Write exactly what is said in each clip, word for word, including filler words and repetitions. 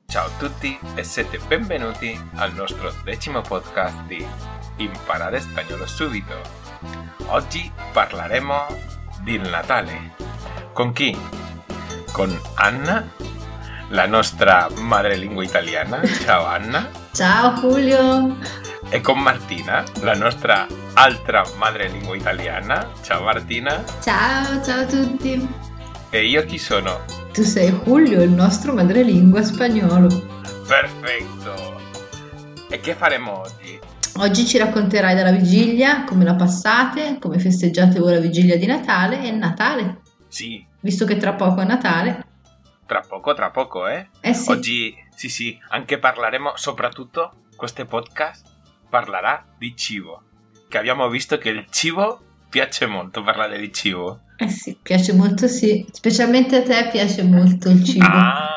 Ciao a tutti e siete benvenuti al nostro decimo podcast di Imparare Spagnolo Subito. Oggi parleremo del Natale. Con chi? Con Anna, la nostra madrelingua italiana. Ciao Anna. Ciao Julio. E con Martina, la nostra altra madrelingua italiana. Ciao Martina. Ciao, ciao a tutti. E io chi sono? Tu sei Julio, il nostro madrelingua spagnolo. Perfetto! E che faremo oggi? Oggi ci racconterai della vigilia, come la passate, come festeggiate voi la vigilia di Natale e il Natale. Sì. Visto che tra poco è Natale. Tra poco, tra poco, eh? Eh sì. Oggi, sì sì, anche parleremo, soprattutto, questo podcast parlerà di cibo. Che abbiamo visto che il cibo piace molto, parlare di cibo. Eh sì, piace molto sì. Specialmente a te piace molto il cibo. Ah!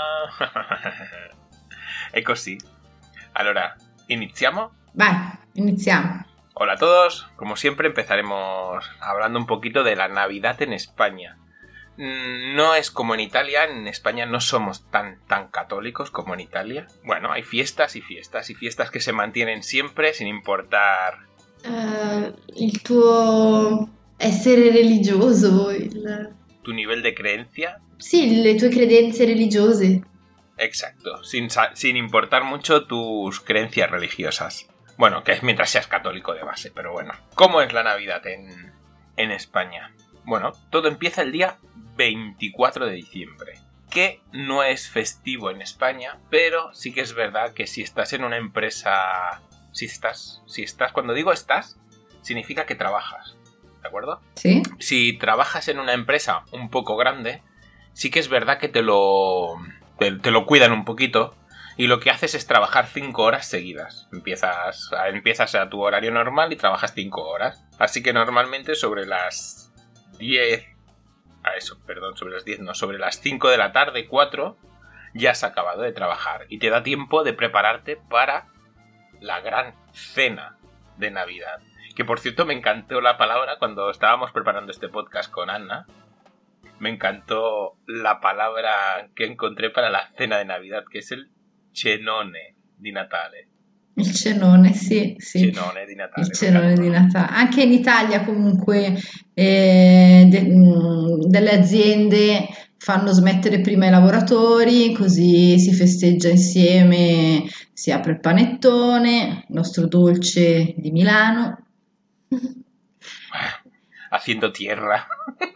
È così. Allora, ¿iniziamo? Vai, iniziamo. Hola a todos. Como siempre empezaremos hablando un poquito de la Navidad en España. No es como en Italia, en España no somos tan, tan católicos como en Italia. Bueno, hay fiestas y fiestas y fiestas que se mantienen siempre sin importar... Uh, il tuo essere religioso, il... tu nivel de creencia. Sì, le tue credenze religiose. Exacto, sin, sin importar mucho tus creencias religiosas. Bueno, que es mientras seas católico de base, pero bueno. ¿Cómo es la Navidad en, en España? Bueno, todo empieza el día veinticuatro de diciembre, que no es festivo en España, pero sí que es verdad que si estás en una empresa... Si estás, si estás, cuando digo estás, significa que trabajas, ¿de acuerdo? Sí. Si trabajas en una empresa un poco grande, sí que es verdad que te lo, te, te lo cuidan un poquito y lo que haces es trabajar cinco horas seguidas. Empiezas, empiezas a tu horario normal y trabajas cinco horas. Así que normalmente sobre las diez, a eso, perdón, sobre las diez, no, sobre las cinco de la tarde, cuatro, ya has acabado de trabajar y te da tiempo de prepararte para la gran cena de Navidad. Que por cierto me encantó la palabra cuando estábamos preparando este podcast con Anna. Me encantó la palabra que encontré para la cena de Navidad, que es el cenone di Natale. Il cenone, sì, sì. Cenone di Natale. Il cenone di Natale. Anche in Italia comunque eh, de, mh, delle aziende fanno smettere prima i lavoratori, così si festeggia insieme, si apre il panettone, il nostro dolce di Milano. Haciendo tierra.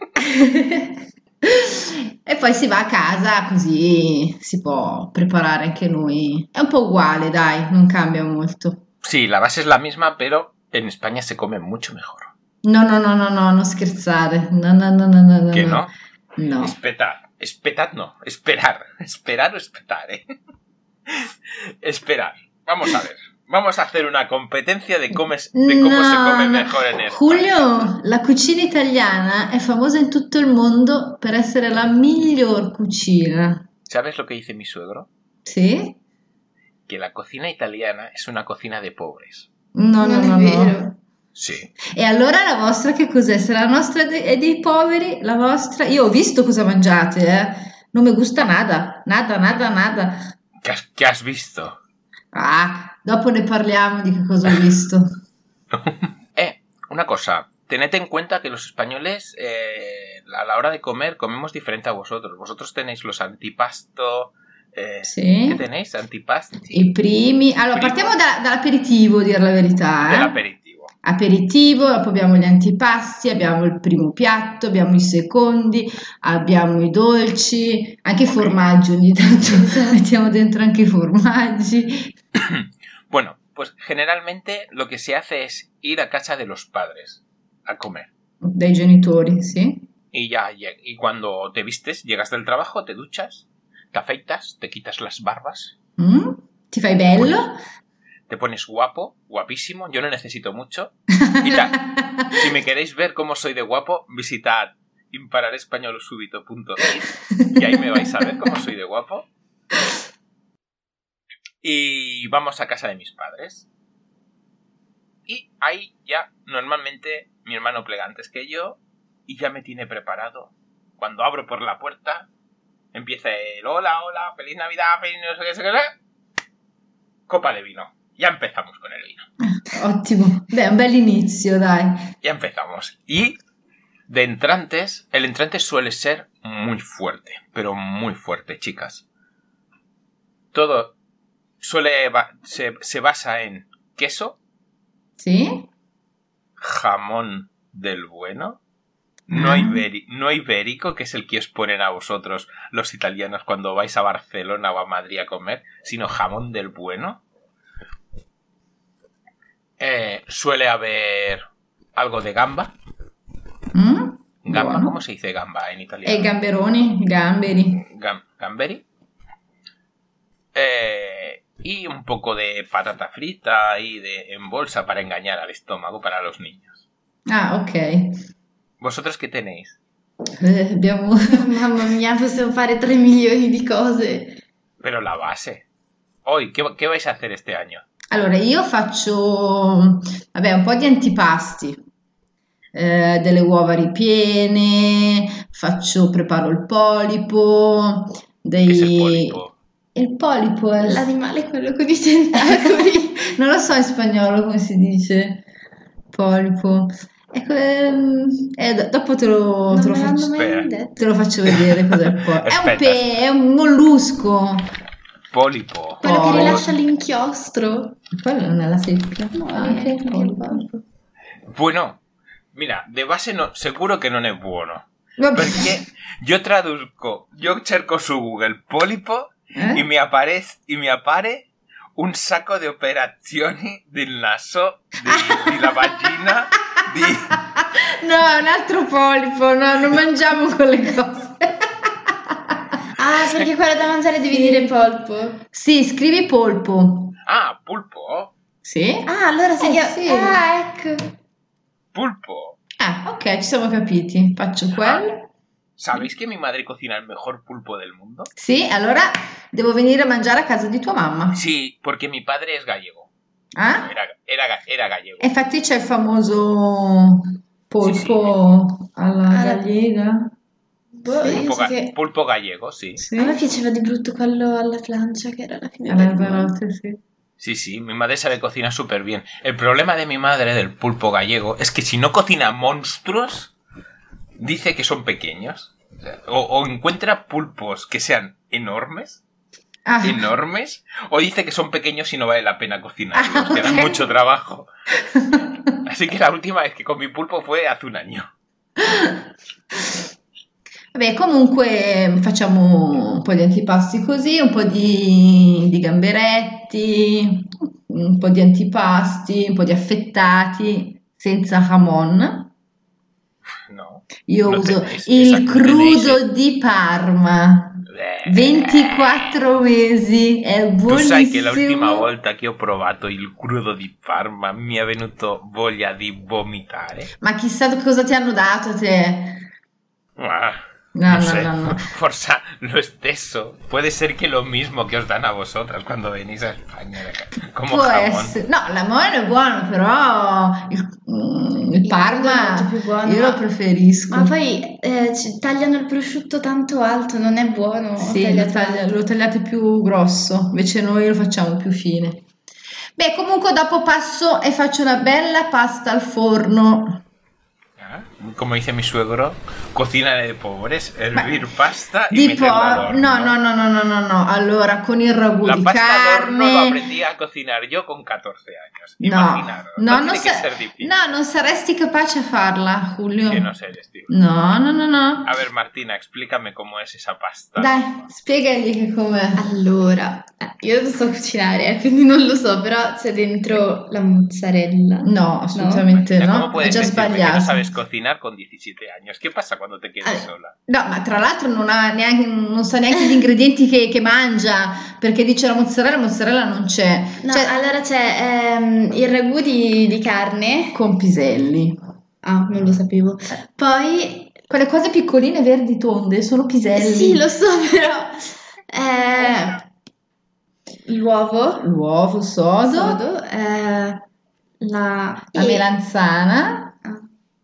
E poi si va a casa, così si può preparare anche noi. È un po' uguale, dai, non cambia molto. Sí, la base es la misma, pero en España se come mucho mejor. No, no, no, no, no, non scherzare. No, no, no, no, no. ¿Qué no? No. Espetar. Espetar no. Esperar. Esperar o espetare. Esperar. Vamos a ver. Vamos a hacer una competencia de, comes, de cómo no, se come no. mejor en España. Julio, la cucina italiana è famosa in tutto il mondo per essere la miglior cucina. ¿Sabes lo que dice mi suegro? ¿Sí? Que la cocina italiana es una cocina de pobres. No, no, no, no. no. Sì. E allora la vostra che cos'è? Se la nostra è dei poveri, la vostra... Io ho visto cosa mangiate, eh. Non mi gusta nada. Nada, nada, nada. ¿Qué has, qué has visto? Ah, dopo ne parliamo di che cosa ho visto. eh, una cosa. Tened en cuenta que los españoles eh, a la hora de comer comemos diferente a vosotros. Vosotros tenéis los antipasto... Eh, sì. Che tenéis? Antipasti? I primi... Allora, Primo. partiamo da, dall'aperitivo, dire la verità. Eh? Dell'aperitivo. Aperitivo, dopo abbiamo gli antipasti, abbiamo il primo piatto, abbiamo i secondi, abbiamo i dolci, anche i formaggi ogni tanto, mettiamo dentro anche i formaggi. Bueno, pues generalmente lo que se hace es ir a casa de los padres a comer. Dai genitori, sì. Y ya, y cuando te vistes, llegas del trabajo, te duchas, te afeitas, te quitas las barbas. Mm? Ti fai bello? Te pones guapo, guapísimo, yo no necesito mucho. Y ta, si me queréis ver cómo soy de guapo, visitad impararespañolosubito punto it y ahí me vais a ver cómo soy de guapo. Y vamos a casa de mis padres. Y ahí ya, normalmente, mi hermano plega antes que yo y ya me tiene preparado. Cuando abro por la puerta, Empieza el hola, hola, feliz Navidad, feliz no sé qué, no sé qué. Copa de vino. Ya empezamos con el vino. Ottimo. Beh, un bel inizio, dai. Ya empezamos. Y de entrantes, el entrante suele ser muy fuerte, pero muy fuerte, chicas. Todo suele ba- se, se basa en queso, Sì? jamón del bueno, no, Ah. iberi- no ibérico, que es el que os ponen a vosotros los italianos cuando vais a Barcelona o a Madrid a comer, sino jamón del bueno. Eh, suele haber algo de gamba. Mm? Gamba, Buono. ¿cómo se dice gamba en italiano? E i gamberoni, i gamberi. Gam- gamberi. Eh, y un poco de patata frita y de en bolsa para engañar al estómago para los niños. Ah, ok. ¿Vosotros qué tenéis? Eh, abbiamo... Mamma mia, possiamo fare tre milioni di cose. Pero la base. Hoy, ¿qué, qué vais a hacer este año? Allora, io faccio, vabbè, un po' di antipasti, eh, delle uova ripiene, faccio, preparo il polipo, ¿Qué es el dei... pólipo? Il polipo è... L'animale è quello con i tentacoli. Non lo so in spagnolo come si dice, polipo. Ecco, ehm, eh, do- dopo te lo, Non te lo me l'hanno faccio, mai Aspetta. detto. te lo faccio vedere cos'è il polipo. È un, Aspetta. pe- è un mollusco. Pólipo. Quello che Poi- rilascia l'inchiostro. Quello non è la seppia. No, Ah, è ok, il polipo. polipo. Bueno, mira, de base no, seguro que non è buono. Vabbè. Perché io traduzco, io cerco su Google pólipo Eh? y me aparece y me appare un sacco di operazioni del naso, di, di la vagina, di... No, è un altro polipo, no, non mangiamo quelle cose. Ah, perché quello da mangiare devi dire polpo. Sì, scrivi polpo. Ah, pulpo. Sì? Ah, allora si Eh, chiama... sì. Ah, ecco. Pulpo. Ah, ok, ci siamo capiti. Faccio quello. ¿Sabéis que mi madre cocina el mejor pulpo del mundo? Sì, allora devo venire a mangiare a casa di tua mamma. Sí, porque mi padre es gallego. Ah? Era, era, ga- era gallego. E infatti c'è il famoso polpo alla Alla- gallega. Boh, Sì. io Pulpo, so ga- che... pulpo gallego, sí. Sì. A me piaceva di brutto quello alla plancia, che era la fine Alla del mondo. veloce, sì. Sí, sí, mi madre sabe cocinar súper bien. El problema de mi madre del pulpo gallego es que si no cocina monstruos, dice que son pequeños. O, sea, o- o encuentra pulpos que sean enormes, Ah, enormes, o dice que son pequeños y no vale la pena cocinarlos, que dan ok. mucho trabajo. Así que la última vez que comí pulpo fue hace un año. vabbè, comunque facciamo un po' di antipasti così, un po' di, di gamberetti, un po' di antipasti, un po' di affettati senza jamon. No. Io Lo uso tenéis, il esatto, lo tenéis. crudo di Parma, Eh, ventiquattro mesi, è Tu sai che l'ultima buonissimo. volta che ho provato il crudo di Parma mi è venuto voglia di vomitare. Ma chissà cosa ti hanno dato te. Ah, No, no no, sé, no, no. forse lo stesso. Puede ser que lo mismo que os dan a vosotras cuando venís a España, como Può jamón. essere. No, l'amore è buono, però il, mm, il Parma è molto più buono, io lo ma- preferisco. Ma poi eh, ci tagliano il prosciutto tanto alto, non è buono. Sì, lo, tagliato taglia- alto. lo tagliate più grosso, invece noi lo facciamo più fine. Beh, comunque dopo passo e faccio una bella pasta al forno. Ah, como dice mi suegro, cocina de pobres, hervir Ma- pasta y Di meterla al po- horno. no, no, no, no, no, no, no. Allora, con il ragù La di pasta al horno lo carne. aprendí a cocinar yo con catorce años. No, Imaginaros. no, No, non tiene que sa- ser difícil. no, non saresti capace a farla, Julio. Que no sé el estilo. No, no, no, no. A ver, Martina, explícame cómo es esa pasta. Dai, spiegagli che com'è. Allora, eh, io non so cucinare, eh, quindi non lo so, però c'è dentro la mozzarella. No, assolutamente Martina, no. ¿cómo È puedes già decirme que no sbagliato. sabes cocinar con diecisiete años? ¿Qué pasa cuando te quedas Ah, sola? No, ma tra l'altro non ha neanche, non sa neanche gli ingredienti che, che mangia, perché dice la mozzarella, mozzarella non c'è. No, Cioè, allora c'è ehm, il ragù di, di carne. con piselli. Ah, non lo sapevo. Poi, Quelle cose piccoline, verdi, tonde, sono piselli. sì, lo so, però... eh, l'uovo, L'uovo sodo, sodo, eh, la... la e- melanzana, ah.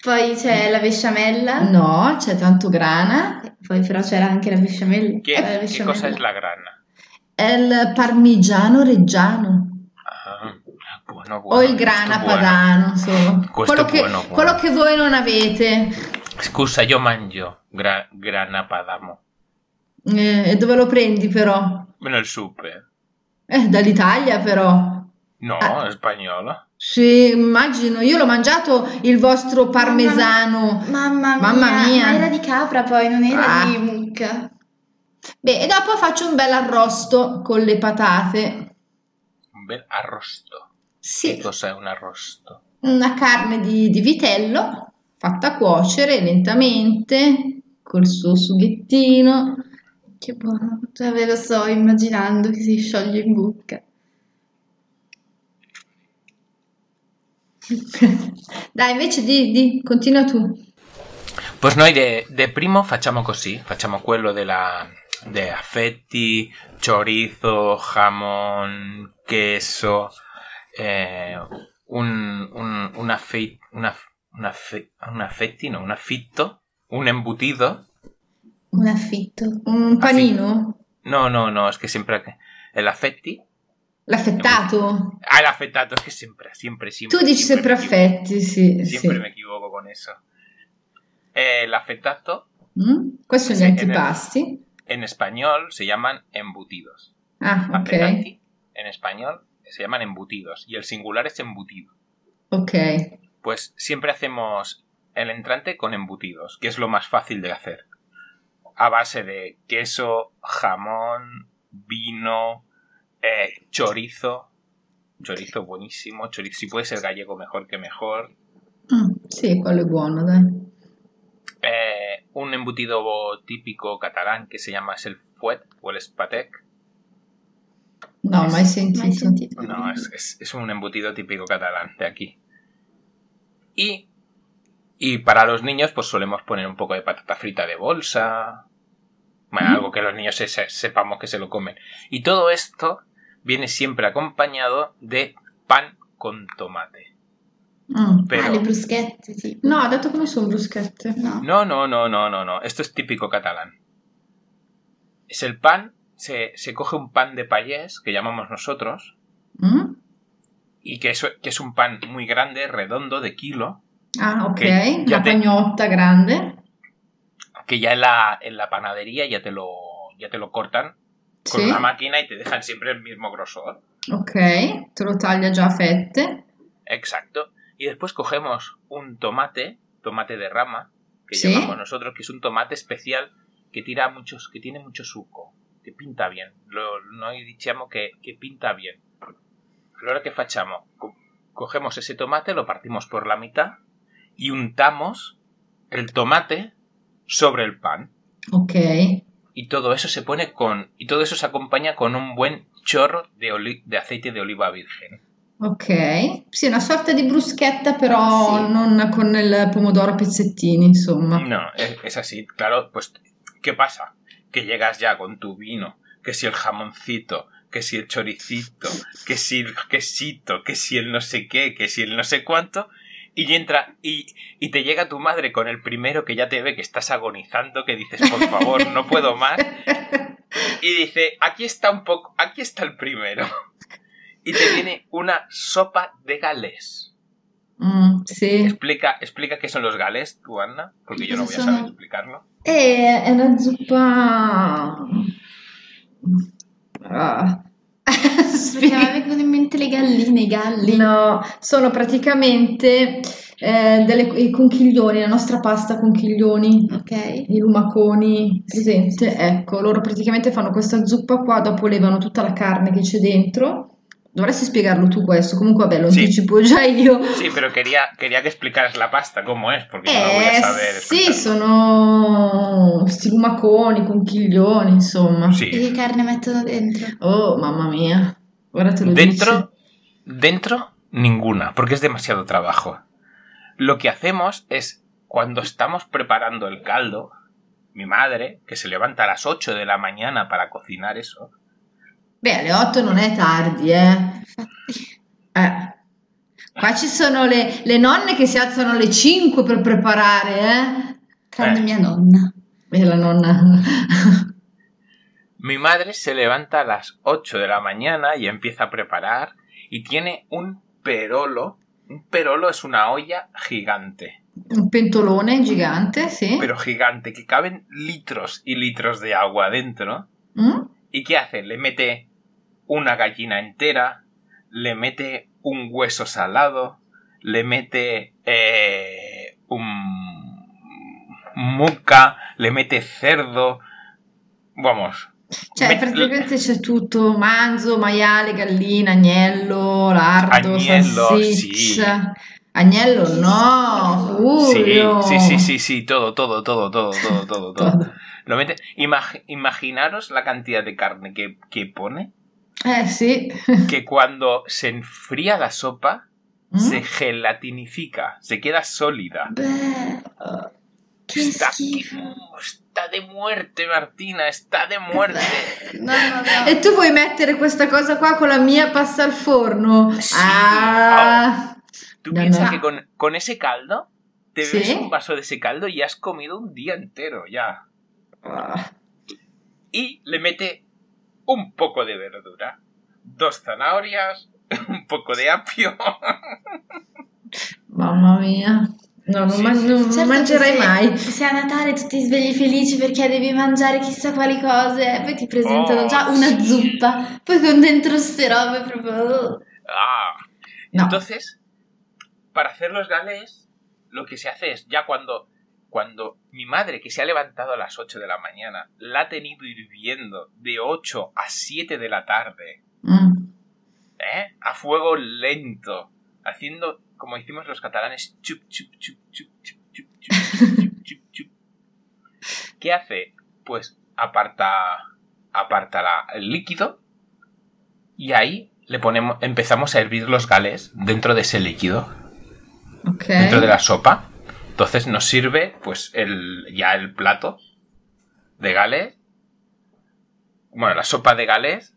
Poi c'è la besciamella. No, c'è tanto grana. Poi però c'era anche la besciamella. ¿Qué, Eh, la ¿Qué besciamella. cosa es la grana? È il parmigiano reggiano. Ah, bueno, O bueno, il esto grana es bueno. padano, insomma. Questo Quello è che, buono, buono. quello che voi non avete. Scusa, io mangio gra- grana padamo. Eh, e dove lo prendi però? Nel super. Eh, dall'Italia però. No, Ah. è spagnolo. Sì, immagino. Io l'ho mangiato il vostro parmesano. Mamma, Mamma mia, mia. ma era di capra poi, non era Ah. di mucca. Beh, e dopo faccio un bel arrosto con le patate. Un bel arrosto. Sì. Che cos'è un arrosto? Una carne di, di vitello fatta cuocere lentamente col suo sughettino. Che buono, già ve lo sto immaginando che si scioglie in bocca. Dai, invece di, di, continua tu. Pues noi de, de primo facciamo così, facciamo quello della, de affetti, chorizo, jamón, queso, eh, un, un, un, affetti, una, un, affe, un affetti, no, un affitto, un embutido. Un affitto. Un panino? No, no, no, es que siempre... El affetti... L'affettato? Ah, el affettato, es que siempre, siempre, siempre... Tu dici sempre affetti, sì. Siempre sì. me equivoco con eso. Eh, el affettato... Mm? Questi sono Sí, gli en el- antipasti. En español se llaman embutidos. Ah, ok. Affettati, en español se llaman embutidos y el singular es embutido. Ok. Pues siempre hacemos el entrante con embutidos, que es lo más fácil de hacer. A base de queso, jamón, vino, eh, chorizo. Chorizo buenísimo. Chorizo, si puede ser gallego, mejor que mejor. Mm, sì, quello è buono, dai. Eh, un embutido típico catalán que se llama es el fuet o el espatec. No, mai sentito. Mai sentito. No, es, es, es un embutido típico catalán de aquí. Y, y para los niños, pues solemos poner un poco de patata frita de bolsa. Bueno, Mm. algo que los niños se- se- sepamos que se lo comen. Y todo esto viene siempre acompañado de pan con tomate. Mm. Pero Ah, le bruschette, tipo. No, ha detto che non sono bruschette. No. no, no, no, no, no, no. Esto es típico catalán. Es el pan, se, se coge un pan de payés, que llamamos nosotros, Mm? y que es, que es un pan muy grande, redondo, de kilo, Ah, ok. Che già Una te- pagnotta grande. que ya en la, en la panadería ya te lo, ya te lo cortan con Sì. una máquina y te dejan siempre el mismo grosor. Ok, te lo taglia già a fette. Exacto. Y después cogemos un tomate, tomate de rama, que Sí. llamamos nosotros, que es un tomate especial que tira muchos, que tiene mucho suco, que pinta bien. Lo, noi diciamo que, que pinta bien. Allora che facciamo? Co- Cogemos ese tomate, lo partimos por la mitad y untamos el tomate sobre el pan. Ok. Y todo eso se pone con, y todo eso se acompaña con un buen chorro de, oli- de aceite de oliva virgen. Ok. Sì, una sorta di bruschetta, però Sì. non con il pomodoro a pezzettini, insomma. No, es, es así, claro, pues, ¿qué pasa? Que llegas ya con tu vino, que si el jamoncito, que si el choricito, que si el quesito, que si el no sé qué, que si el no sé cuánto, y entra, y, y te llega tu madre con el primero que ya te ve que estás agonizando, que dices, por favor, no puedo más, y dice, aquí está un poco, aquí está el primero. Y te viene una sopa de galés. Mm, sì. Explica, explica qué son los galés, tú, Anna, porque yo no voy a Sono- saber explicarlo. E è una zuppa... Ah. Perché mi vengono in mente le galline, i galli. No, sono praticamente eh, delle, i conchiglioni, la nostra pasta conchiglioni, Ok. i lumaconi, presente? Ecco, loro praticamente fanno questa zuppa qua, dopo levano tutta la carne che c'è dentro. Dovresti spiegarlo tu questo, comunque vabbè, lo Sì. anticipo già io. Sí, pero quería, quería que explicaras la pasta, cómo es, porque yo no voy a Eh, saber sì, explicarlo. sono sti lumaconi, conchiglioni, insomma. E Sí. che carne mettono dentro? Oh, mamma mia, ora te lo Dentro, dice. dentro, ninguna, porque es demasiado trabajo. Lo que hacemos es, cuando estamos preparando el caldo, mi madre, que se levanta a las ocho de la mañana para cocinar eso, Beh, alle otto non è tardi, eh. Infatti. Eh. Qua ci sono le, le nonne che si alzano alle cinque per preparare, eh? Tranne Eh. mia nonna. E la nonna... Mi madre se levanta a las ocho de la mañana y empieza a preparar y tiene un perolo. Un perolo es una olla gigante, Un pentolone gigante, sì. pero gigante, que caben litros y litros de agua dentro. Mm? ¿Y qué hace? Le mete una gallina entera, le mete un hueso salado, le mete eh, un mucca, le mete cerdo, vamos. Cioè, me- praticamente c'è tutto: manzo, maiale, gallina, agnello, lardo, Agnello, salsiccia. Agnello no, Sí, Julio. sí, sí, sí, sí, todo, todo, todo, todo, todo, todo, todo. Todo. Lo mete. Imag- imaginaros la cantidad de carne que, que pone, Eh sì. que cuando se enfría la sopa, Mm? se gelatinifica, se queda sólida. Beh, che Está, schifo. está de muerte, Martina, está de muerte. No, no, no. E tu vuoi mettere questa cosa qua con la mia pasta al forno? Sí. Ah. Tú No, piensas no. que con, con ese caldo, te Sí. bebes un vaso de ese caldo y has comido un día entero ya. Ah. Y le mete un poco de verdura, dos zanahorias, un poco de apio. Mamma mia. No, non, Sì, man- sì, non sì. Certo mangerei che se, mai. se a Natale tu ti svegli felice perché devi mangiare chissà quali cose, poi ti presentano Oh, già una sì. zuppa, poi con dentro ste robe proprio... Ah. No. Entonces, para hacer los galés, lo que se hace es, ya cuando, cuando mi madre, que se ha levantado a las ocho de la mañana, la ha tenido hirviendo de ocho a siete de la tarde, Mm. ¿eh? A fuego lento, haciendo, como hicimos los catalanes, chup, chup, chup, chup, chup, chup, chup, chup, chup, chup. ¿Qué hace? Pues aparta, aparta la- el líquido y ahí le ponemos, empezamos a hervir los galés dentro de ese líquido, Ok. dentro de la sopa. Entonces nos sirve pues el, ya el plato de galés, bueno, la sopa de galés,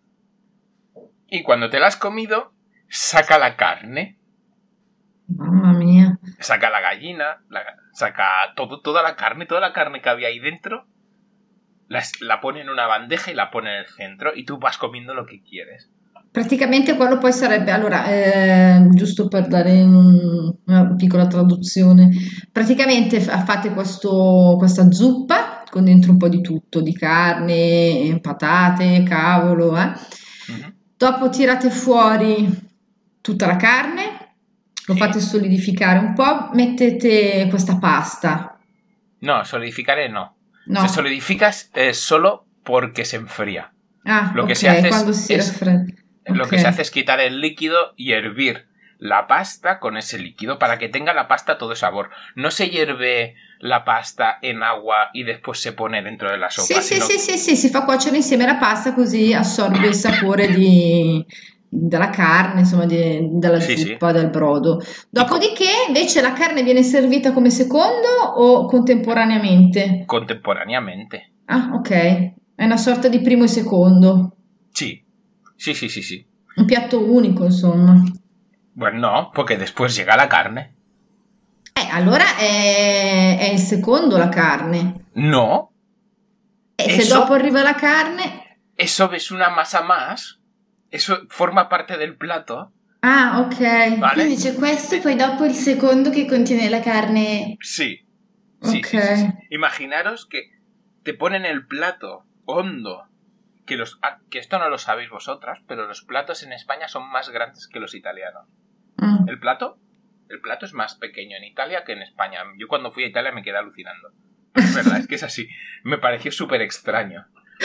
y cuando te la has comido, saca la carne. Mamma mia. Saca la gallina, la, saca todo, toda la carne, toda la carne que había ahí dentro, la, la pone en una bandeja y la pone en el centro y tú vas comiendo lo que quieres. Praticamente quello poi sarebbe, allora, eh, giusto per dare un- una piccola traduzione, praticamente fa- fate questo, questa zuppa con dentro un po' di tutto, di carne, patate, cavolo, eh. Uh-huh. Dopo tirate fuori tutta la carne, lo Sì. fate solidificare un po', mettete questa pasta. No, solidificare no. No. Se solidifica eh, solo porque se enfría. Ah, Lo que ok, se hace es- quando si es- raffredda. Lo Ok. que se hace es quitar el líquido y hervir la pasta con ese líquido para que tenga la pasta todo sabor. No se hierve la pasta en agua y después se pone dentro de la Sì, sopa, sì, sino sì, sì, sì, si fa cuocere insieme la pasta così assorbe il sapore di- della carne, insomma, di- della Sì, sì. zuppa, del brodo. Dopodiché, invece, la carne viene servita come secondo o contemporaneamente? contemporáneamente. Ah, ok. È una sorta di primo e secondo. Sí, sí, sí, sí, sí. Un piatto unico, insomma. Bueno, no, porque después llega la carne. Eh, allora è, è il secondo la carne. No, E se Eso- dopo arriva la carne... eso es una masa más. Eso forma parte del plato. Ah, ok. Vale. Quindi c'è questo e poi dopo il secondo che contiene la carne. Sí. Sí, Ok. sí, sí, sí. Imaginaros que te ponen el plato hondo. Que, los, ah, que esto no lo sabéis vosotras, pero los platos en España son más grandes que los italianos. Mm. El plato, el plato es más pequeño en Italia que en España. Yo cuando fui a Italia me quedé alucinando. Es verdad, es que es así. Me pareció súper extraño.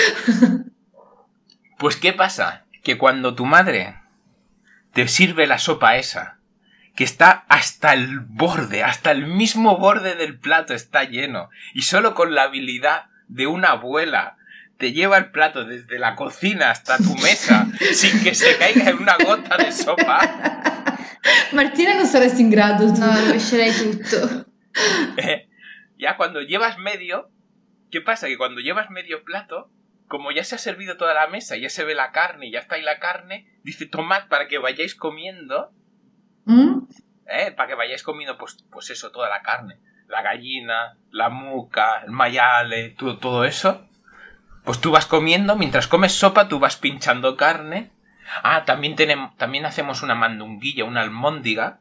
Pues ¿qué pasa? Que cuando tu madre te sirve la sopa esa, que está hasta el borde, hasta el mismo borde del plato está lleno, y solo con la habilidad de una abuela te lleva el plato desde la cocina hasta tu mesa sin que se caiga en una gota de sopa, Martina non saresti in grado tu. No, rovescerei tutto. eh, ya cuando llevas medio, ¿qué pasa? Que cuando llevas medio plato, como ya se ha servido toda la mesa, ya se ve la carne, ya está ahí la carne, dice tomad para que vayáis comiendo, Mm? ¿eh? Para que vayáis comiendo, pues, pues eso, toda la carne. La gallina, la muca, el maiale, todo, todo eso. Pues tú vas comiendo, mientras comes sopa, tú vas pinchando carne. Ah, también tenemos, también hacemos una mandunguilla, una almóndiga.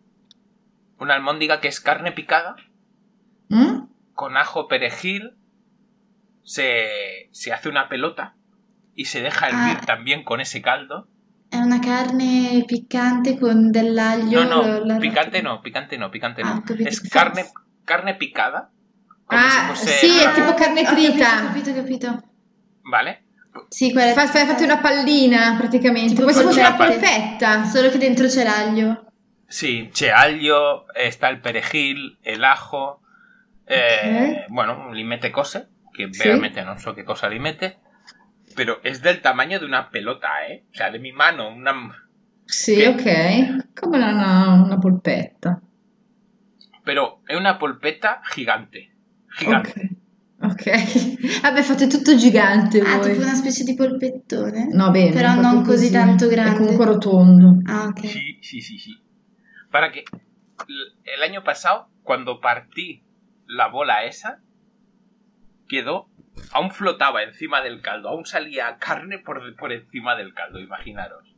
Una almóndiga que es carne picada. Mm? Con ajo, perejil. Se, se hace una pelota. Y se deja hervir Ah. también con ese caldo. È una carne piccante con dell'aglio. No, no, lo- la picante rotolo. no, picante no, picante Ah, no. ho capito. Es carne, carne picada. Come Ah, se fosse... sì, è una- tipo carne Ho trita. capito, ho capito, ho capito. Vale? Sì, quella Fa- fa- Fate una pallina praticamente, Tipo come se fosse una polpette. polpetta. Solo che dentro c'è l'aglio. Sí, c'è aglio, está el perejil, el ajo, eh, bueno, li mette cose, que Sí. veramente no sé qué cosa li mette, pero es del tamaño de una pelota, ¿eh? O sea, de mi mano, una... Sì, Che- ok, come una, una polpetta. Pero è una polpetta gigante, gigante. Ok, ok. Vabbè, fate tutto gigante Ah, voi. tipo una specie di polpettone. No, bene, Però proprio non così tanto È grande. comunque rotondo. Ah, ok. Sí, sí, sí, sí. Para que l- el año pasado, cuando partí la bola esa, quedó, aún flotaba encima del caldo, aún salía carne por, por encima del caldo, imaginaros.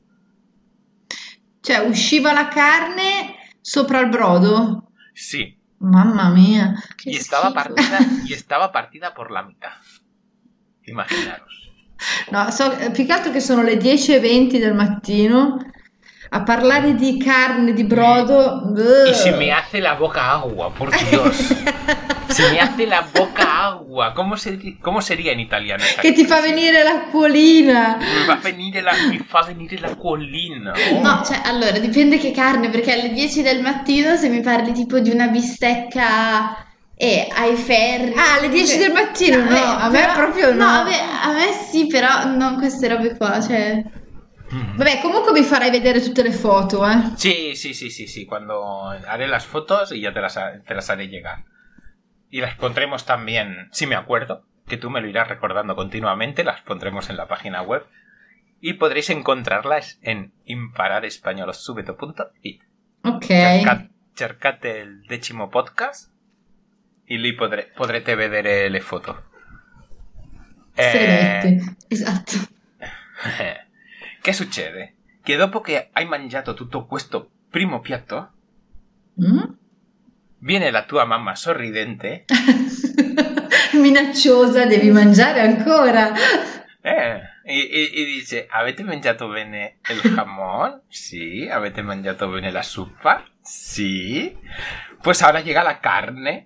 Cioè, usciva la carne sopra il brodo? Sí, Mamma mia. Che y estaba schifo. partida, y estaba partida por la mitad. Imaginaros. No, so, più che altro che sono le dieci e venti del mattino a parlare di carne, di brodo. Y se me hace la boca agua, por Dios. Se me hace la boca agua. ¿Cómo, se- cómo sería en italiano? esa Che ti fa expresión? venire l'acquolina. Mi va a venire la, mi fa venire la collina. No, cioè, allora, dipende che carne, perché alle dieci del mattino se mi parli tipo di una bistecca e ai ferri... Ah, alle dieci del mattino? No, eh, a me però- proprio no. a me, a me sì, però non queste robe qua, cioè... Vabbè, comunque mi farai vedere tutte le foto, eh. Sí, sí, sí, sí, sí. Cuando haré las fotos y ya te las, ha- te las haré llegar. Y las pondremos también, si me acuerdo, que tú me lo irás recordando continuamente, las pondremos en la página web. Y podréis encontrarlas en imparadespañolosubito punto it. Ok. Cerca- cercate il decimo podcast e lì podre- potrete vedere le foto. Se le Eh, mette. Esatto. Che succede? Che dopo che hai mangiato tutto questo primo piatto, Mm? viene la tua mamma sorridente Minacciosa, devi mangiare ancora. eh, e, e- e dice: avete mangiato bene il jamón? Sì. Avete mangiato bene la zuppa? Sì. Pues ahora llega la carne.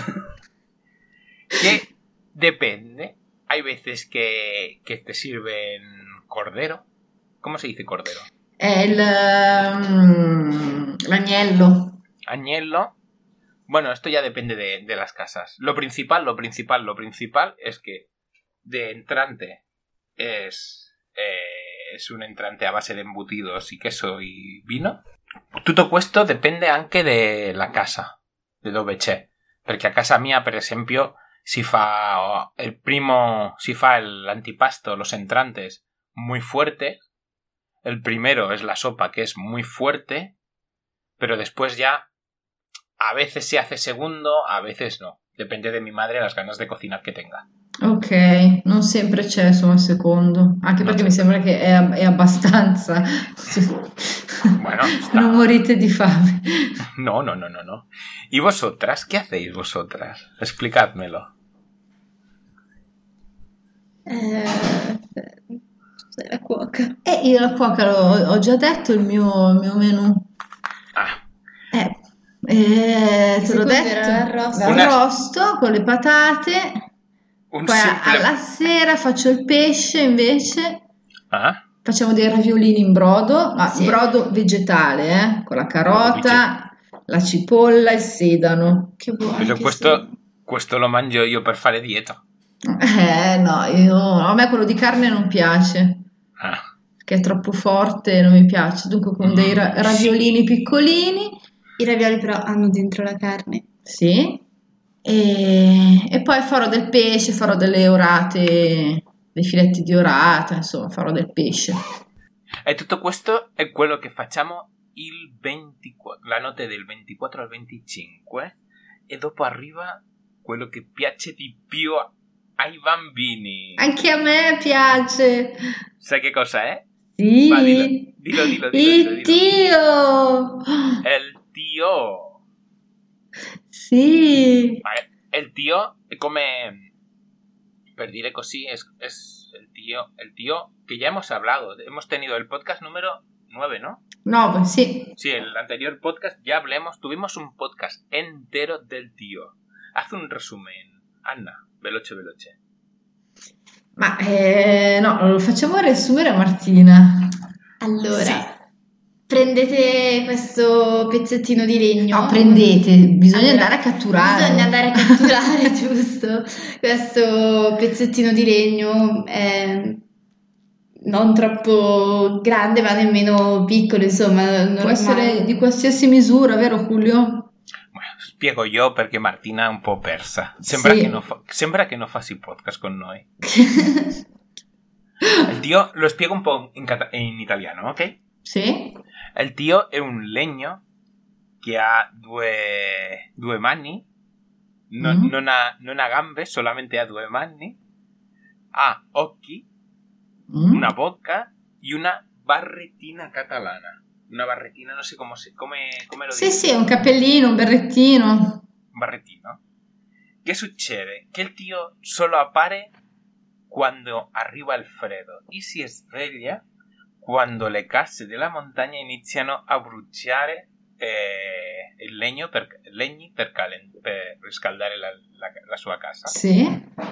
Que depende. Hay veces que, que te sirven cordero. ¿Cómo se dice cordero? È il, mm, l'agnello. Agnello. Bueno, esto ya depende de, de las casas. Lo principal, lo principal, lo principal es que de entrante es, eh, es un entrante a base de embutidos y queso y vino. Tutto questo depende anche de la casa, de dove c'è. Perché a casa mia, per esempio, si fa el primo, si fa el antipasto, los entrantes muy fuerte. El primero es la sopa, que es muy fuerte, pero después ya a veces se hace segundo, a veces no. Depende de mi madre las ganas de cocinar que tenga. Ok, non sempre c'è insomma il secondo, anche No, perché c'è. mi sembra che è, è abbastanza. Bueno, sta- Non morite di fame. No, no, no, no, no. ¿Y vosotras? ¿Qué hacéis vosotras? Explicádmelo. Eh, sei la cuoca. E io la cuoca l'ho- ho già detto il mio, il mio menù. Ah, Eh, eh, te l'ho secondo detto. era l'arrosto. Una- L'arrosto con le patate. un Poi simple... alla sera faccio il pesce invece. Ah, Facciamo dei raviolini in brodo, ma Sì. brodo vegetale, eh, con la Brodo carota, la cipolla, il sedano. Che buono pero che questo, questo lo mangio io per fare dieta. Eh no, io, a me quello di carne non piace, Ah, che è troppo forte e non mi piace. Dunque con dei ra- Mm, raviolini piccolini, I ravioli però hanno dentro la carne. sì, e, e poi farò del pesce, farò delle orate, dei filetti di orata, insomma, farò del pesce. e tutto questo è quello che facciamo il ventiquattro, la notte del ventiquattro al venticinque, e dopo arriva quello che piace di più ai bambini. Anche a me piace. Sai che cosa è? Sì. Va, dillo, dillo, dillo, dillo, Il dillo, dillo. tio. È il tio. Sì. Ma è il tio è come, per dire così, es, es el tío, el tío que ya hemos hablado. Hemos tenido el podcast número nueve, ¿no? No, sì. Sí, el anterior podcast ya hablemos, tuvimos un podcast entero del tío. Haz un resumen, Anna, veloce veloce. Ma eh, no, lo facciamo riassumere a Martina. Allora, Sì. prendete questo pezzettino di legno. No, prendete, bisogna Allora, andare a catturare. Bisogna andare a catturare, giusto? Questo pezzettino di legno è non troppo grande, ma nemmeno piccolo, insomma, Può normale. essere di qualsiasi misura, vero Julio? Bueno, spiego io perché Martina è un po' persa. Sembra, Sì. che, non fa, sembra che non fassi podcast con noi. Il tío, lo spiego un po' in, cata- in italiano, ok? Sì? Il tío è un legno che ha due, due mani, no- Mm. non, ha, non ha gambe, solamente ha due mani, ha occhi, Mm? una bocca y una barretina catalana. Una barretina, no sé cómo, se, come, come lo Sì, dico. sì, un cappellino, un berrettino. Un barretino. ¿Qué sucede? Que el tío solo appare cuando arriva il freddo y si sveglia quando le case della montagna iniziano a bruciare eh, il legno per, legni per, calen- per riscaldare la, la, la sua casa. Sì?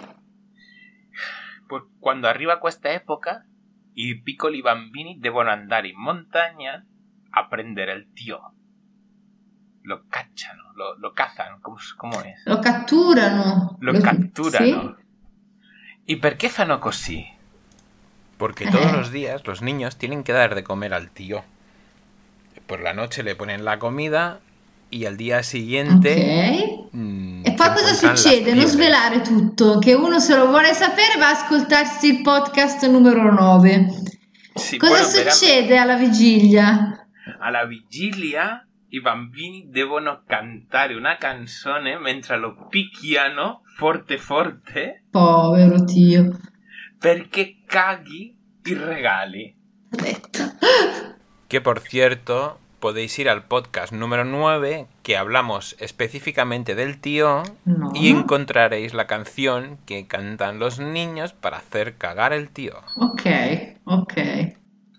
Pues quando arriva questa epoca, i piccoli bambini devono andare in montagna a prendere il tío. Lo cacciano, lo, lo cazan, ¿cómo, cómo es? Lo catturano. Lo catturano. Sì? ¿Y por qué fanno così? Porque Eh. todos los días los niños tienen que dar de comer al tío. Por la noche le ponen la comida y al día siguiente... Ok. mm, E poi se cosa encuentran las succede? Non pieles. svelare tutto, che uno se lo vuole sapere va a ascoltarsi il podcast numero nove. Sí, Cosa bueno, verán, succede alla vigilia? alla vigilia i bambini devono cantare una canzone mentre lo picchiano forte forte Povero tio. perché caghi i regali. Ho detto. Que por cierto, podéis ir al podcast número nueve, que hablamos específicamente del tío, No. y encontraréis la canción que cantan los niños para hacer cagar el tío. Ok, ok.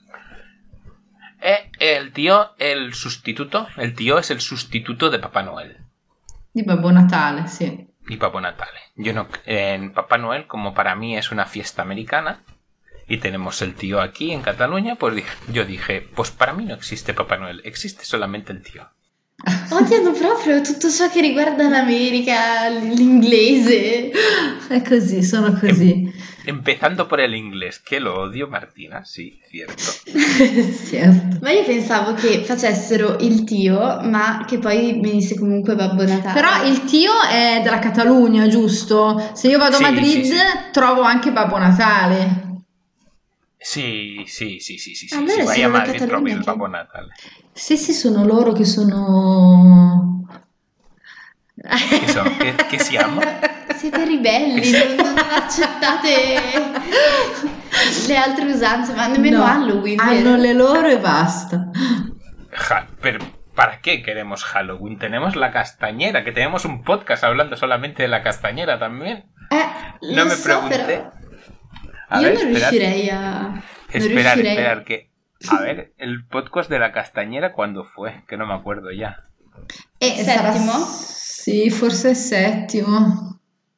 E el tío, el sustituto, el tío es el sustituto de Papá Noel. Di Babbo Natale, sì. Y Papá Natale. Yo no, en Papá Noel, como para mí es una fiesta americana, y tenemos el tío aquí en Cataluña, pues dije, yo dije, pues para mí no existe Papá Noel, existe solamente el tío. Odiano proprio tutto ciò che riguarda l'America, l'inglese. È così, sono così. Empezando por el inglés, que lo odio, Martina, sí, cierto. Certo. Ma io pensavo che facessero il tio, ma che poi venisse comunque Babbo Natale. Però il tio è della Catalogna, giusto? Se io vado Sì, a Madrid sì, sì. trovo anche Babbo Natale. Sí, sí, sí, sí, sí, sí. Allora Si vai siamo a da Madrid Catalunya trovi il che- Babbo Natale. Sì, sì, sono loro che sono... Che, so, che, che siamo? Siete ribelli, non, non accettate le altre usanze, ma nemmeno No, Halloween. vero? hanno le loro e basta. Ja, pero ¿para qué queremos Halloween? Tenemos la castañera, que tenemos un podcast hablando solamente de la castañera también. Eh, No lo me so, pregunté. però A io ver, non esperad, riuscirei a... non esperar, riuscirei. esperar, que... A ver, el podcast de la castañera, ¿cuándo fue? Que no me acuerdo ya. E Settimo? Sì, forse è settimo.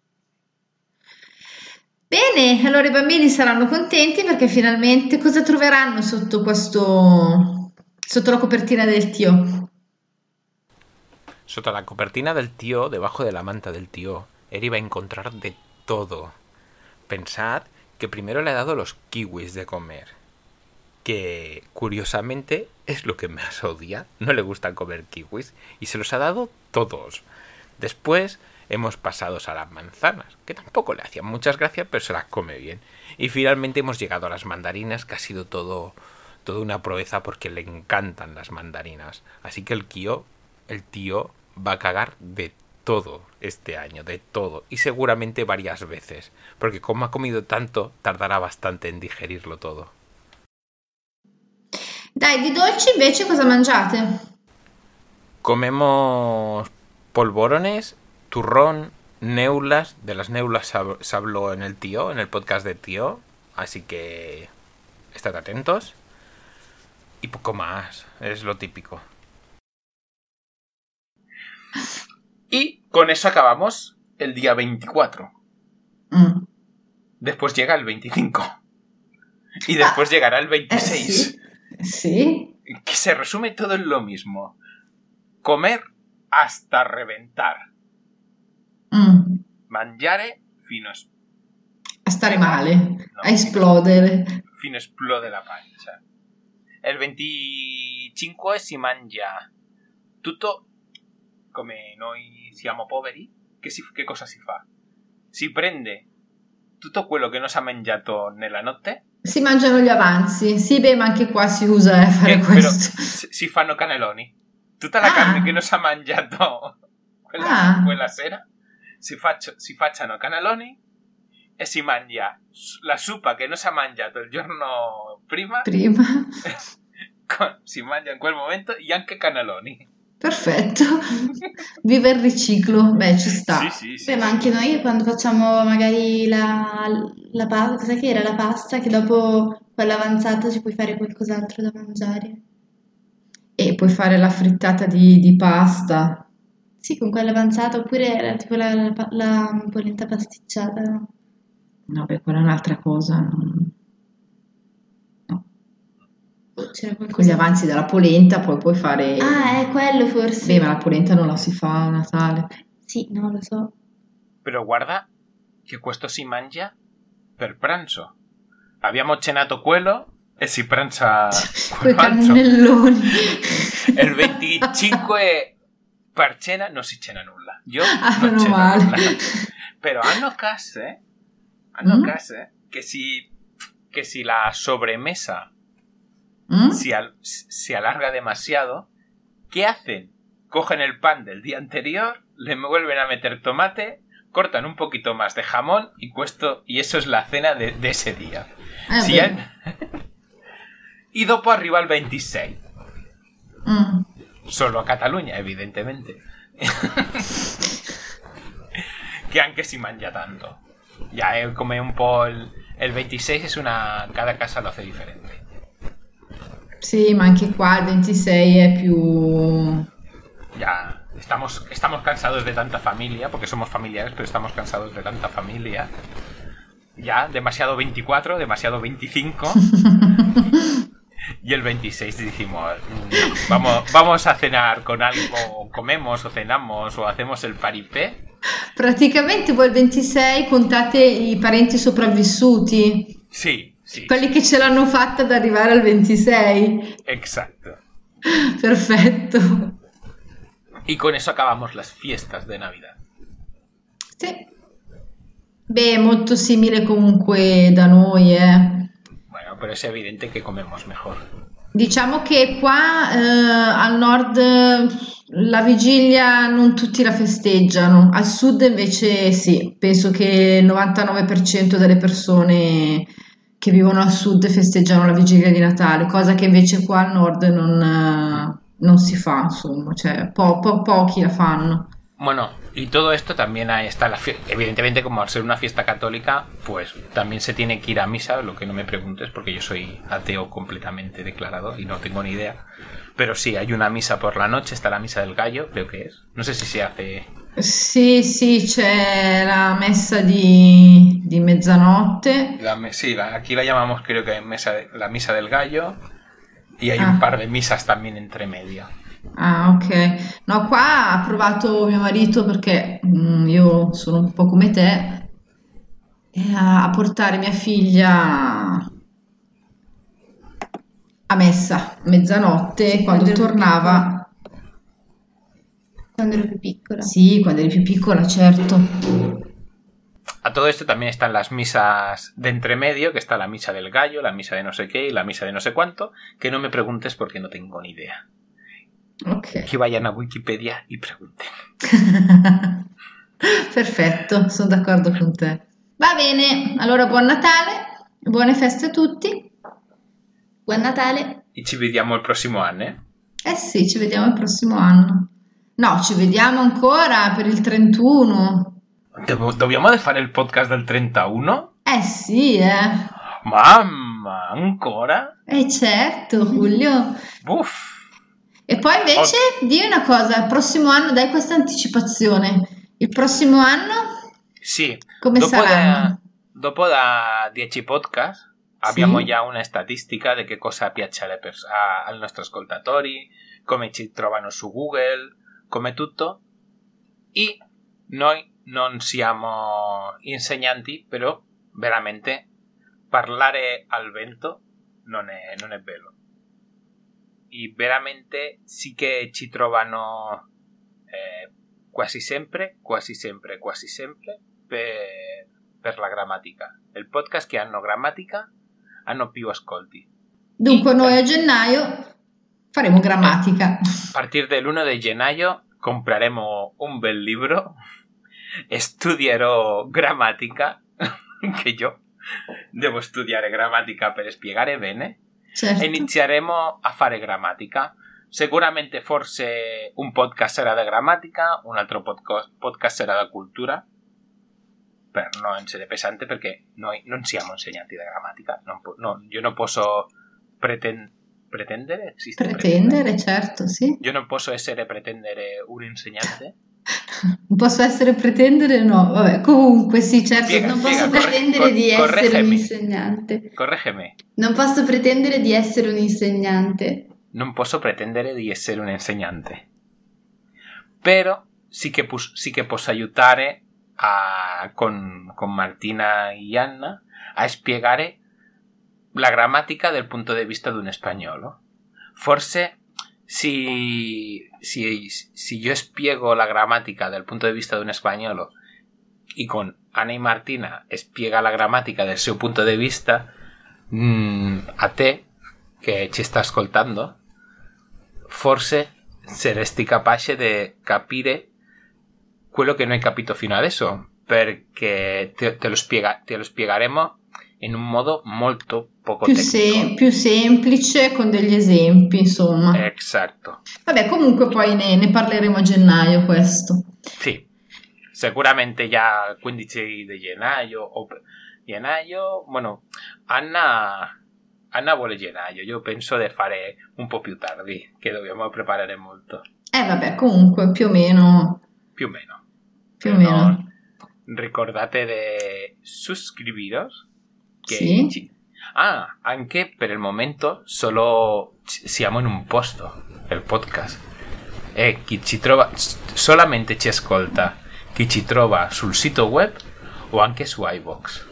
Bene, allora i bambini saranno contenti perché finalmente cosa troveranno sotto questo... sotto la copertina del tio? Sotto la copertina del tío, debajo de la manta del tío, él iba a encontrar de todo. Pensad que primero le ha dado los kiwis de comer, que curiosamente es lo que más odia, no le gusta comer kiwis, y se los ha dado todos. Después hemos pasado a las manzanas, que tampoco le hacían muchas gracias, pero se las come bien. Y finalmente hemos llegado a las mandarinas, que ha sido todo, toda una proeza porque le encantan las mandarinas. Así que el tío, el tío va a cagar de todo este año, de todo. Y seguramente varias veces. Porque como ha comido tanto, tardará bastante en digerirlo todo. Dai, di dolci invece cosa mangiate? Comemos polvorones, turrón, neulas. De las neulas se habló en el tío, en el podcast de tío. Así que estad atentos. Y poco más, es lo típico. Y con eso acabamos el día veinticuatro. Mm. Después llega el veinticinco. Y después ah, llegará el veintiséis. Eh, sí. sí. Que se resume todo en lo mismo. Comer hasta reventar. Mm. Mangiare fino a... a stare male, no, a esplodere. Fino a esplode la pancia. Il venticinque si mangia tutto, come noi siamo poveri, che, si, che cosa si fa? Si prende tutto quello che non si è mangiato nella notte. Si mangiano gli avanzi. Sì, beh, ma anche qua si usa eh, fare che, questo. Però si fanno cannelloni. Tutta la ah. carne che non si è mangiato quella, ah. quella sera si, faccio, si facciano cannelloni e si mangia la suppa che non si è mangiato il giorno prima. Prima. Con, si mangia in quel momento e anche cannelloni. Perfetto. Viva il riciclo. Beh, ci sta. Sì, sì, sì, Beh, sì. ma anche noi quando facciamo magari la, la pasta, cosa che era la pasta, che dopo quella avanzata ci puoi fare qualcos'altro da mangiare. E puoi fare la frittata di, di pasta. Sì, con quella avanzata, oppure era tipo la, la, la polenta pasticciata, no? No, beh, quella è un'altra cosa. No. C'era Con gli avanzi della polenta poi puoi fare... Ah, è quello forse. Beh, ma la polenta non la si fa a Natale. Sì, no, lo so. Però guarda che questo si mangia per pranzo. Abbiamo cenato quello e si pranza quei cannelloni. Il venticinque per cena non si cena nulla. Io ah, non ceno male. nulla. Però hanno case, hanno mm? case che si, che si la sobremesa ¿Mm? si, al, si alarga demasiado, ¿qué hacen? Cogen el pan del día anterior, le vuelven a meter tomate, cortan un poquito más de jamón y, cuesto, y eso es la cena de, de ese día. Ah, si han... Y dopo arriba el veintiséis. Mm. Solo a Cataluña, evidentemente. Que anche si mangia tanto. Ya, eh, come un po' il, il ventisei es una... Cada casa lo hace differente. Sì, ma anche qua il ventisei è più... Ya, estamos, estamos cansados de tanta familia, porque somos familiares, pero estamos cansados de tanta familia. Ya, demasiado veinticuatro, demasiado veinticinco. Y el veintiséis decimos, vamos, vamos a cenar con algo, comemos o cenamos o hacemos el paripé. Praticamente voi il ventisei contate i parenti sopravvissuti. Sì, sì. Quelli che ce l'hanno fatta ad arrivare al ventisei. Exacto. Perfetto. Y con eso acabamos las fiestas de Navidad. Sì. Beh, molto simile comunque da noi, eh. Bueno, pero es evidente que comemos mejor. Diciamo che qua eh, al nord la vigilia non tutti la festeggiano, al sud invece sì, penso che il novantanove per cento delle persone che vivono al sud festeggiano la vigilia di Natale, cosa che invece qua al nord non, non si fa, insomma, cioè po- po- pochi la fanno. Bueno, y todo esto también ahí está la fiesta. Evidentemente, como al ser una fiesta católica, pues también se tiene que ir a misa, lo que no me preguntes, porque yo soy ateo completamente declarado y no tengo ni idea. Pero sí, hay una misa por la noche, está la misa del gallo, creo que es. No sé si se hace... Sì, sì, c'è la messa di, di mezzanotte. La, sí, la, aquí la llamamos creo que mesa, la misa del gallo. Y hay ah. un par de misas también entre medio. Ah, ok. No, qua ha provato mio marito perché mm, io sono un po' come te eh, a portare mia figlia a messa mezzanotte quando, quando tornava. Quando ero più piccola. Sì, quando eri più piccola, certo. A todo esto también están las misas de entremedio, que está la misa del gallo, la misa de no sé qué y la misa de no sé cuánto, que no me preguntes porque no tengo ni idea. Ok. Che vayan a Wikipedia e pregunten. Perfetto, sono d'accordo con te. Va bene, allora buon Natale, buone feste a tutti. Buon Natale. E ci vediamo il prossimo anno, eh? Eh sì, ci vediamo il prossimo anno. No, ci vediamo ancora per il trentuno. Devo- Dobbiamo fare il podcast del trentuno? Eh sì, eh. Mamma, ancora? Eh certo, Giulio. Uff. E poi invece, di una cosa, il prossimo anno, dai questa anticipazione. Il prossimo anno Sì, come dopo saranno? da, dopo da dieci podcast abbiamo Sì. già una statistica di che cosa piace alle pers- a- ai nostri ascoltatori, come ci trovano su Google, come tutto. E noi non siamo insegnanti, però veramente parlare al vento non è, non è bello. E veramente sì che ci trovano eh, quasi sempre, quasi sempre, quasi sempre per, per la grammatica. Il podcast che hanno grammatica hanno più ascolti. Dunque noi a gennaio faremo grammatica. A partir dell'primo di gennaio compreremo un bel libro e studierò grammatica, che io devo studiare grammatica per spiegare bene. Certo. E inizieremo a fare grammatica. Sicuramente forse un podcast sarà da grammatica, un altro podco- podcast sarà da cultura, per non essere pesante, perché noi non siamo insegnanti di grammatica. Non po- no, io non posso preten- pretendere, esiste Pretendere, certo, sì. Io non posso essere pretendere un insegnante. Non posso essere pretendere, no. Vabbè, comunque sì, certo. Spiega, Non spiega, posso corre- pretendere cor- di essere un correggimi. insegnante. Correggimi. Non posso pretendere di essere un insegnante. Non posso pretendere di essere un insegnante. Però sì che, pus- sì che posso aiutare a- con, con Martina e Anna a spiegare la grammatica dal punto di vista di un spagnolo. Forse si, si, si io spiego la grammatica dal punto di vista di un spagnolo e con Anna e Martina spiega la grammatica dal suo punto di vista, mh, a te che ci sta ascoltando, forse saresti capace di capire quello che non hai capito fino adesso, perché te, te, lo, spiega, te lo spiegheremo in un modo molto poco Più, tecnico. sem- più semplice, con degli esempi, insomma. Esatto. Vabbè, comunque poi ne, ne parleremo a gennaio questo. Sì, sicuramente già il quindici di gennaio o gennaio, bueno, Anna Anna vuole gennaio, io penso di fare un po' più tardi, che dobbiamo preparare molto, Eh vabbè, comunque più o meno, più o meno. più o meno. No, ricordate di suscribiros. Che Sì. ci- Ah, anche per il momento solo ci- siamo in un posto, il podcast. E chi ci trova, solamente ci ascolta chi ci trova sul sito web o anche su iVoox.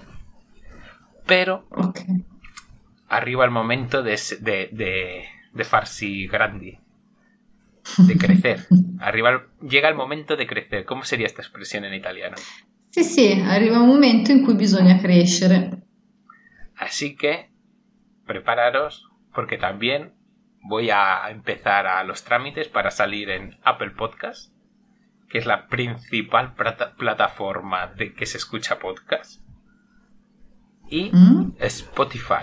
Però Ok. arriva il momento de, de, de, de farsi grandi, de crecer. Arriva el- llega el momento de crecer. ¿Cómo sería esta expresión en italiano? Sì, sì, arriva un momento in cui bisogna crescere. Así que prepararos porque también voy a empezar a los trámites para salir en Apple Podcast, que es la principal plata- plataforma de que se escucha podcast, y Mm? Spotify,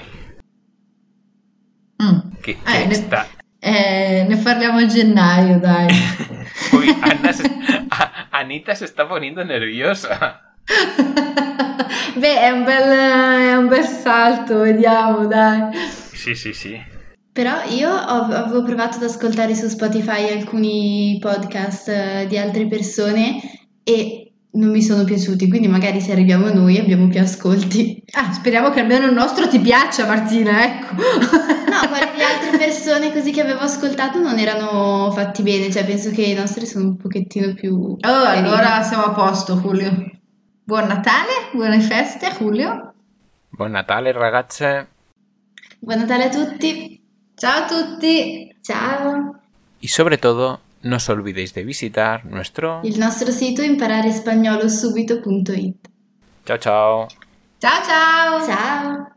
Mm. que, Eh, que ne- está... Eh, ne parliamo a gennaio, dai. Uy, Anna se- a- Anita se está poniendo nerviosa. Beh, è un bel, è un bel salto, vediamo, dai. Sí, sí, sí. Però io ho- avevo provato ad ascoltare su Spotify alcuni podcast eh, di altre persone e non mi sono piaciuti, quindi magari se arriviamo noi abbiamo più ascolti. Ah, speriamo che almeno il nostro ti piaccia, Martina, ecco. No, quelli di altre persone così che avevo ascoltato non erano fatti bene, cioè penso che i nostri sono un pochettino più Oh, carini. allora siamo a posto, Giulio. Buon Natale, buone feste, Giulio. Buon Natale ragazze. Buon Natale a tutti, Ciao a tutti. ciao! Y sobre todo, no os olvidéis de visitar nuestro... Il nostro sito impararespagnolo subito punto it. Ciao ciao. Ciao ciao! Ciao!